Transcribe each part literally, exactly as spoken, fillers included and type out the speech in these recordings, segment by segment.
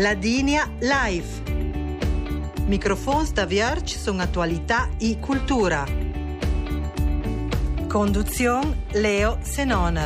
Ladinia Live. Microfons da Vierge sono attualità e cultura. Conduzione Leo Senoner.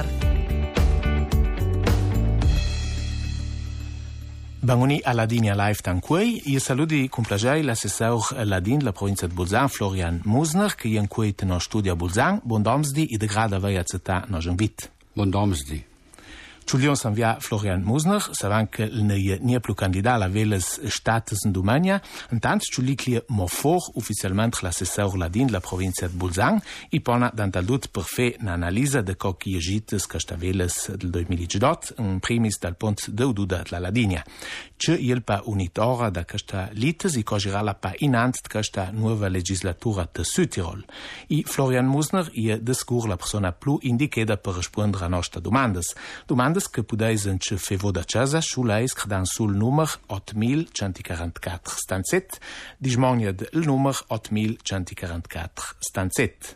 Bangoni a Ladinia Live tanquei, io saluti con piacere l'assessor Ladin della provincia di Bolzano, Florian Musner, che è in cui no studio a Bolzano. Buon domsdi e de grada vai a zeta no invit. Buon domsdi. Ciulion s'envia Florian Musner, savant que il n'est ni plus candidat a les states en Domania, en tant Ciuli clia mo fort ufficialment l'assessor Ladin de la provincia de Bolzano, i pona dantal dut per fer n'analisa de co qui agites que staveles del duemiladiciotto, en primis dal pont d'Eududa de la Ladinia. Ce il pa unitora da questa lites i cogirala pa inant de questa nuova legislatura de Südtirol. I Florian Musner i descur la persona plus indiqueda per rispondere a nostra domandas. Domandas che pudeisen ce fevo da casa sull'eis credan sul numero otto mille centoquarantaquattro stanzet, dismoniad il numero otto mille centoquarantaquattro stanzet.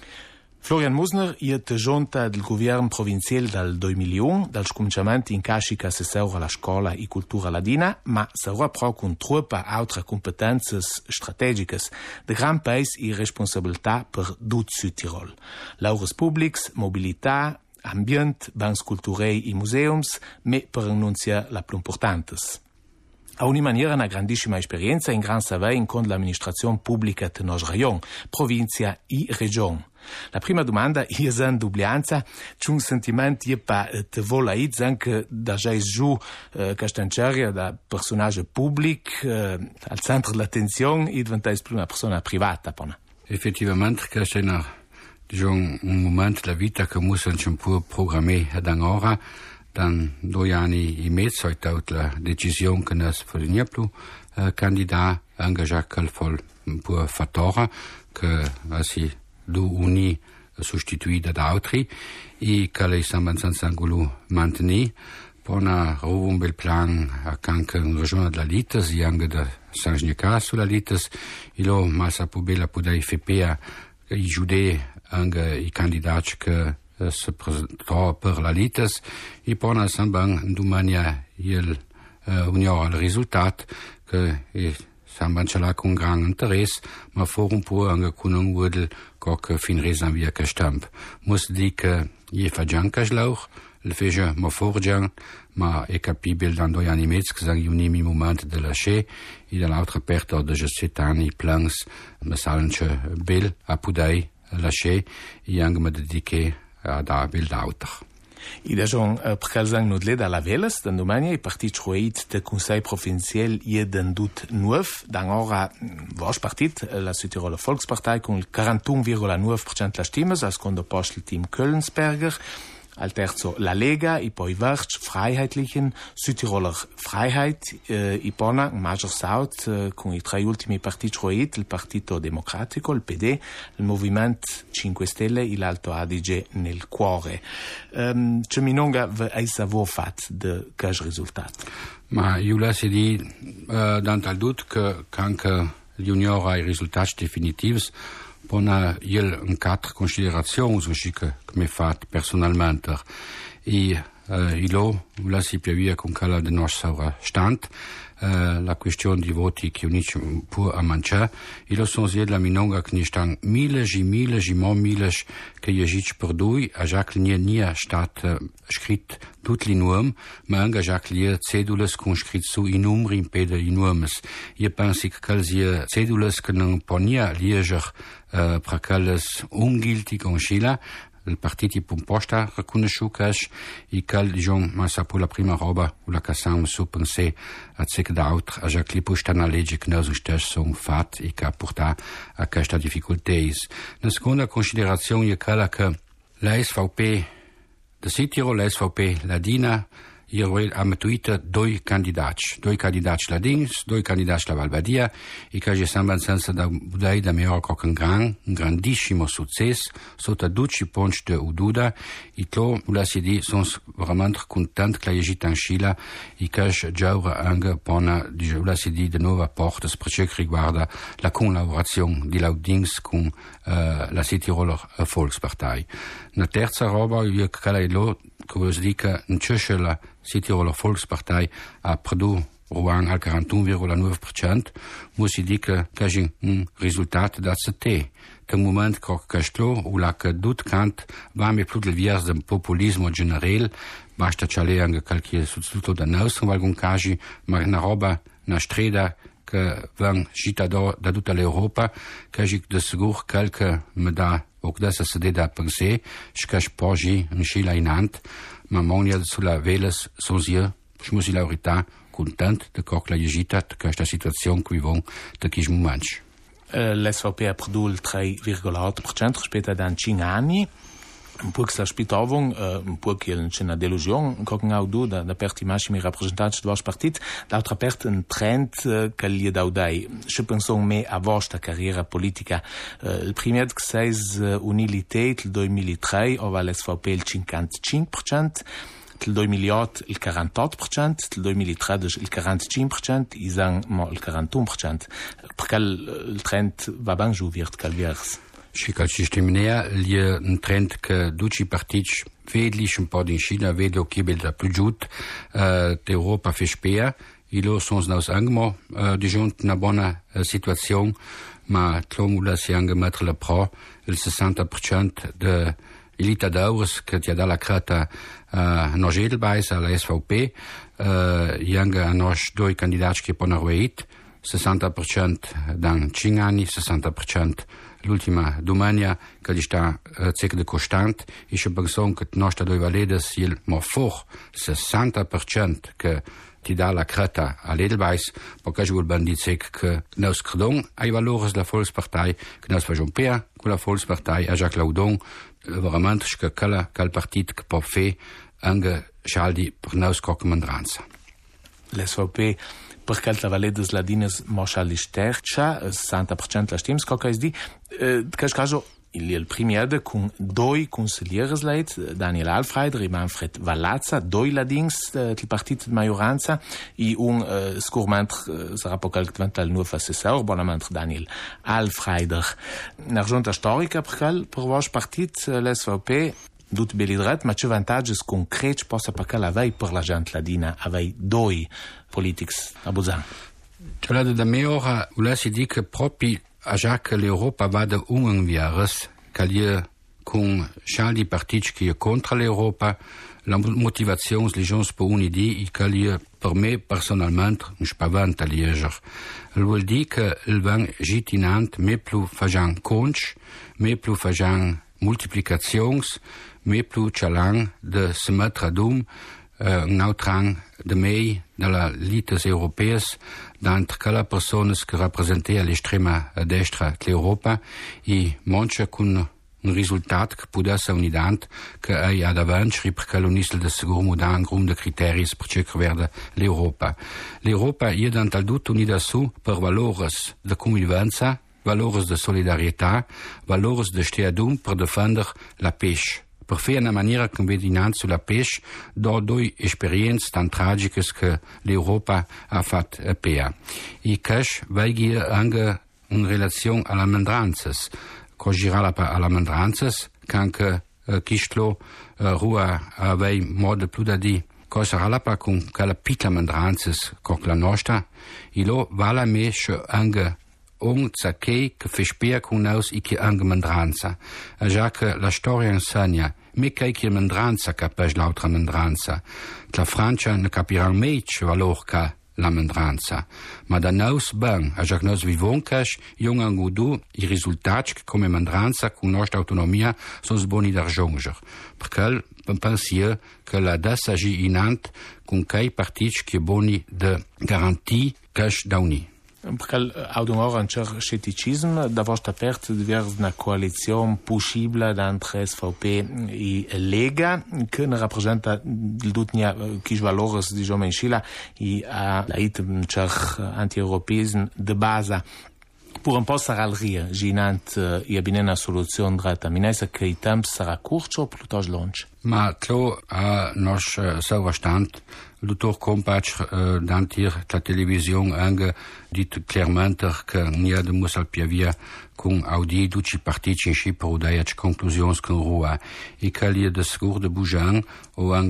Florian Musner è giunta del governo provinciale dal duemilauno, dal scominciamento in carica assessore alla scuola e cultura ladina, ma sarà proprio con troppa altre competenze strategiche de gran paese e responsabilità per tutto Südtirol. Laures publics, mobilità, ambient, bancs culturei e museums, me per annunziare la più importantes. A ogni maniera una grandissima esperienza in gran savei con l'amministrazione pubblica del nostro rayon, provincia e regione. La prima domanda è in dublianza, c'è un sentimento che pa te vola anche da già giù eh, Castanceria, da personaggio pubblico, eh, al centro dell'attenzione e diventa più una persona privata. Pona. Effettivamente, questo è una, diciamo, un momento della vita che possiamo un po' programmare da ora. Dan due anni e mezzo è stata la decisione che non si più eh, candidato engagiato col un po' fattore che si du uni sostituita da altri e che lei sta abbastanza mantenere per una un bel plan anche in regione della Lites e anche da San Gnicas sulla Lites e lo massa più bella poter fare i giudei anche i candidati che se presentò per la Lites e poi nel Samban domani il unione al risultato che è Samban ce l'ha con gran interesse ma for un po' anche con un wordel che fin resan via che stamp muss dire che je fa gianca schlauch il fece ma forgian ma è capibile dan due anni e mezzo che sono gli unimi momenti della sce e dall'altra parte da sette anni plans ma salence bel a pudai lasciare e anche mi dediche a da bil d'auter. I dejon uh, percalzang nudle da la veles, dan domani i partit choeit de Conseil provincial i den dut nuov, dan ora vos partit, la Südtiroler Volkspartei con il quarantuno virgola nove per cento la stimmes, al secondo posto il team Köllensberger, al terzo la Lega, e poi Verge, Freiheitlichen, Südtiroler Freiheit, eh, i pona, Major South, eh, con i tre ultimi partiti choeit, il Partito Democratico, il P D, il Movimento cinque Stelle e l'Alto Adige nel cuore. Um, c'è minonga eis avò fatto de questo risultato? Ma io la si di, uh, dan tal dut che anche l'Unione ha i risultati definitivi, pona il un quattro considerazioni su che mi fa personalmente e uh, ilo la si piavia con quella del nostro stand uh, la questione di voti che unici può a mangiare e lo sono sia la minonga che ne stanno mille e mille e mille che io gic per due a già che nie nie stat uh, scritto tutti i nomi ma anche già che le cedules con scritto su i numeri in pede i nomi io penso che le cedules che non ponia lieger Uh, per quelles ungilti con Scila, il partito pomposta riconosciuto e che diciamo ma sa per la prima roba o la cassam su pensare a zec d'autre a già che posta una legge che noi stessi sono fatti e che ha portato a questa difficoltà. La seconda considerazione è quella che la S V P de Südtirol, la S V P Ladina, io ho mettuito due candidati, due candidati ladins, due candidati la Valbadia, e che ci sembra senza da budai da mio con un gran, un grandissimo successo, sotto duci punti di Ududa, e to, la si di, sono veramente contento che la gita in Scila, e che già anche pona, la si di, di nuovo porta, per ciò che riguarda la collaborazione di Laudings con uh, la Südtiroler Volkspartei. La terza roba, io che la lo, che vuol dire che in Südtiroler Südtiroler Volkspartei ha prodotto Rouen al quarantuno virgola nove per cento, muss si dica che è un risultato da C T. Che moment che questo, o la che dut cant, va me più del vias del populismo generale, basta c'è anche qualche sostituto da noi, in alcuni casi, ma una roba, una strada, che van gita da, da tutta l'Europa, che è de sicuro qualche me da, o che se sede da per sé, che è poi in scila in ant, ma monia sulla veles, sosia, je muss la verità, content de che la gita, de questa situazione qui von, de chi momento. L'S V P ha prodotto il tre virgola otto per cento rispetto ad cinque anni. Un po' che la spitovung, un po' che c'è una delusione, che non ha avuto da, da parte i massimi rappresentanti del vostro partito, d'altra parte un trend che gli ha dato. Se penso me a vostra carriera politica, il primo che sei un'ilità, il duemilatré, ova l'S V P il cinquantacinque per cento, il duemilaotto il quarantotto per cento, il duemilatredici il quarantacinque per cento, i sang il quarantuno per cento. Perché il trend va ben giù virt calviers. Și ca și știminea, e un trend că duci partici vedlich un po' din China, vede o chibel da plujut, uh, d'Europa fispea, ilo sons naus angmo, uh, dijunt una buona uh, situazione, ma tlomula si anche mettere la pro, il sessanta per cento de elita d'eures che ti ha dalla crata uh, nos edelbeis alla S V P, uh, e anche a nos due candidati che ponno reit, sessanta per cento dan cinque anni, sessanta per cento l'ultima domenica che gli sta uh, cec de costant, e se penso che nostra due valedes il mo for sessanta per cento che ti dà la creta all'Edelweiss, perché je vuol ben dire che nos credon ai valori della Volkspartei, che nos facciamo per con la Volkspartei, a Jacques Laudon, veramente che quella quel partito che può fare anche scaldi per nos coccomandranza. L'S V P per quel valedes ladines moschali stercia, sessanta per cento la stims, co che di, in questo caso il, il primo con due consiglieri leit, Daniel Alfreider e Manfred Vallazza, due ladins del partito di maggioranza, e un uh, scurment sarà poi qualche il nuovo assessore, bonamente Daniel Alfreider. Una giunta storica per quel, per vostro partito, l'S V P, Dut belidret, ma c'è vantaggi concreti possa perché l'avei per la gente ladina, avei due politici a Buzan. C'è la da me ora, volessi dire che proprio a già che l'Europa vada un vieres, che gli con scialdi partiti che è contro l'Europa, la motivazione le gens per un'idea e che gli per me personalmente un spavento a lieger. Vuol dire che il van gitinant me più fajan conch, me più fajan multiplicazions, me più chalang de se mettere ad um uh, un outrang de mei della lites europees d'entre quelle persone che rappresentano l'estrema destra dell'Europa e manche con un risultato che può essere un'ident che è ad avanti perché l'unisce del sicuro modern un gruppo di criteri per ciò che vede l'Europa. L'Europa è dan tal tutto unida su per valori di convivenza, valores de solidarietà, valores de steadum per difendere la pesce. Per fare una maniera che vedi innanzi sulla pesce, da due esperienze tan tragiche che l'Europa ha fatto a Pea. E questo va anche in relazione alle mandranzas. Che gira alle mandranzas, che anche uh, Kistlo uh, Rua aveva modo più da dire, che sarà con quella piccola mandranzas come la nostra, e lo vale me anche un zacchei che fa spiegare con noi e che anche mandranza. E già che la storia insegna, me che è mandranza capisce l'altra mandranza. La Francia ne capirà mai che valore che la mandranza. Ma da noi ben, e già che noi viviamo che, io anche tu, i risultati che come mandranza con nostra autonomia sono buoni da raggiungere. Perché penso che la dessa agi inant con quei partiti che buoni de garantie che da unì. Perché ha un certo scetticismo da vostra parte verso una coalizione possibile tra S V P e Lega che ne rappresenta il tutnia chi valori diciamo in Scila e ha un certo anti-europeismo di base per un po' sarà il ria ginant e abbiamo una soluzione dretta minessa che il tempo sarà corto o piuttosto lungo. Ma tlo a nos sauverstand Luthor Kompach uh, dantir la televisione anche dit chiaramente che nia de musal piavia con audi duci partiti in Cipro da conclusions con rua e che li de sicur de Bujan o anche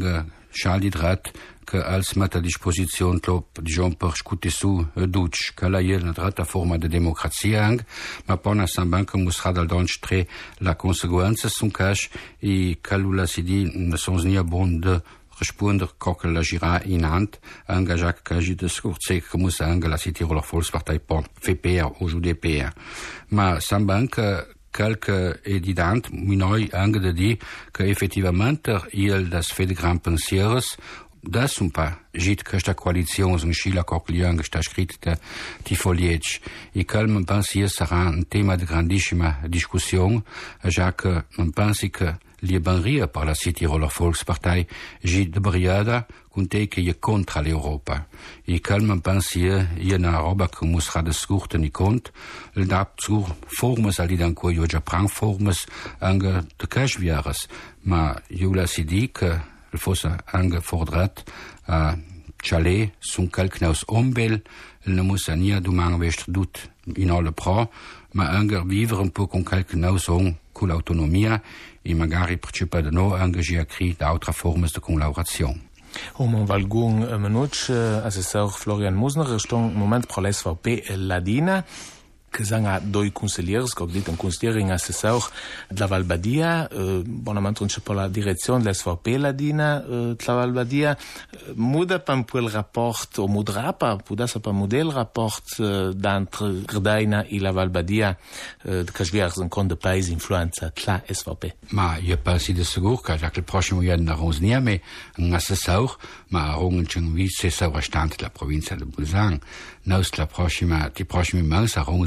schal di dret che als met a disposizione top diciamo per scuti su duc che la iel na dreta forma de democrazia ang ma pona samban che musra dal donche la conseguenza sun cash e calula si di ne sons nia bon de responder coque la gira in hand engagé que j'ai de scourcer que muss ang la City Roller Volkspartei por F P R ou U D P R ma samban que quelque évident minoi ang de di que effectivement il das fait de grands pensiers das un pa jit que sta coalition un schila coquelian que sta scritta di foliage e calme pensier sarà un tema de grandissima discussion ja que on pense que Liebenria par la City Roller Volkspartei jit de briada conte che je contra l'Europa. E calme pensier je na roba che musra de scurte ni cont, il da zu formes ali dan co jo ja prang formes ange de cashviares, ma jo la si di che il fosse ange fordrat a Chalet sun calknaus ombel, il ne muss ania du mang west dut in alle pro, ma ange vivere un po' con calknaus on con l'autonomia e magari partecipa de no ange a cri da altra formes de collaborazione. Um valgun menuc assessor Florian Musner ston moment pro l'S V P Ladina che sanga doi consigliers che dit un consigliering assessor de la Valbadia eh, bonamente non c'è per la direzione dell'S V P Ladina eh, de la Valbadia muda pan quel rapport o mudra pa puda sa pa model rapport eh, d'entre Grdaina e la Valbadia eh, de casviars un con de paese influenza la S V P. Ma io penso di sicuro che già che il prossimo anno non rosniame un assessor ma un vice sovrastante della provincia di Bolzano. Nos la prossima die prossimi mens sarà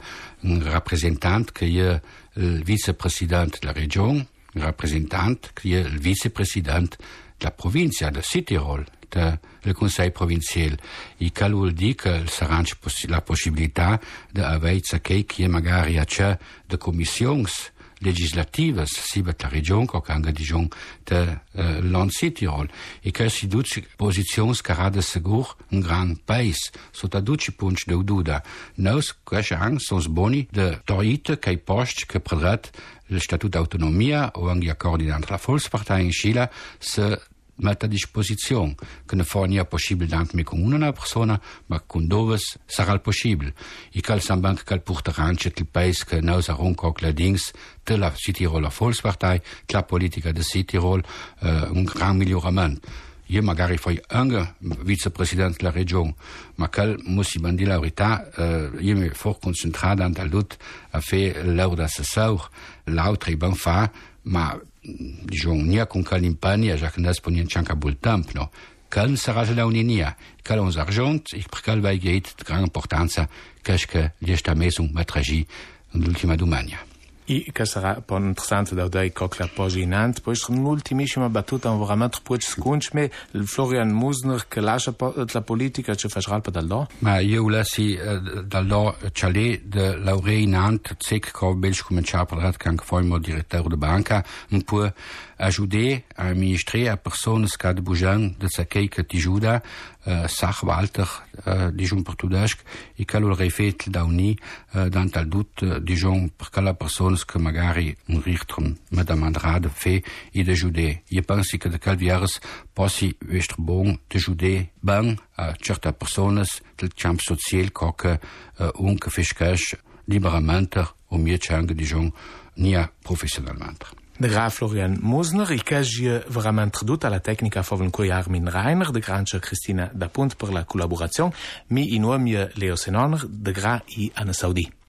un rappresentante che è il vicepresidente della regione, un rappresentante che è il vicepresidente della provincia del Südtirol, del Consiglio provinciale. E che vuol dire che sarà la possibilità di avere che magari c'è de commissioni legislative, sia per la regione che anche diciamo del uh, land Südtirol. E che si duce posizioni che rada sicuro un gran paese. Sotto duce punti di duda. Nos, questi anni, sono buoni di torite che i posti che predret il statuto d'autonomia o anche gli accordi entre la Volkspartei in Scila se mette a disposizione che non fa nia possibile anche con una persona ma con due sarà possibile e che sembra che il porteranche il paese che noi saremo con le dings della City Roller Volkspartei la politica del City Roll uh, un gran miglioramento. Io magari fai anche vicepresidente della regione ma che muss ich dire la verità uh, io mi for concentrato anche all'ut a fare l'ora d'assessor l'altra ben fa ma diciamo nia con calimpania già che non è niente anche a bel tempo no che sarà la uninia che on argent e perché va che di grande importanza che che gli sta messo un matragi nell'ultima domania. E che sarà poi interessante da dai cockla poi in ant poi un'ultimissima battuta un veramente pochi secondi ma il Florian Musner che lascia la politica ci fa scalpa da là ma io lasci da là Chalet de Lauré in ant sec che belge cominciare a parlare che anche poi il direttore de banca un po' ajudar a amministrare a persone che de bujan de sakei che ti ajuda Sachwalter diciamo português e che lo rifet da uni dans tal dut diciamo perché la persone che magari un richtrum madame Andrade fe e de ajudar io penso che de calviares possi estar bom de ajudar bem a certe persone del campo social che un che fiscash liberamente o mie change diciamo nia professionalmente. De Graf Florian Musner, il che è veramente tradotto alla tecnica favon cui Armin Reiner, de Grancia Cristina Dapunt per la collaborazione, mi in nome Leo Senoner, de Gra i Anna Saudi.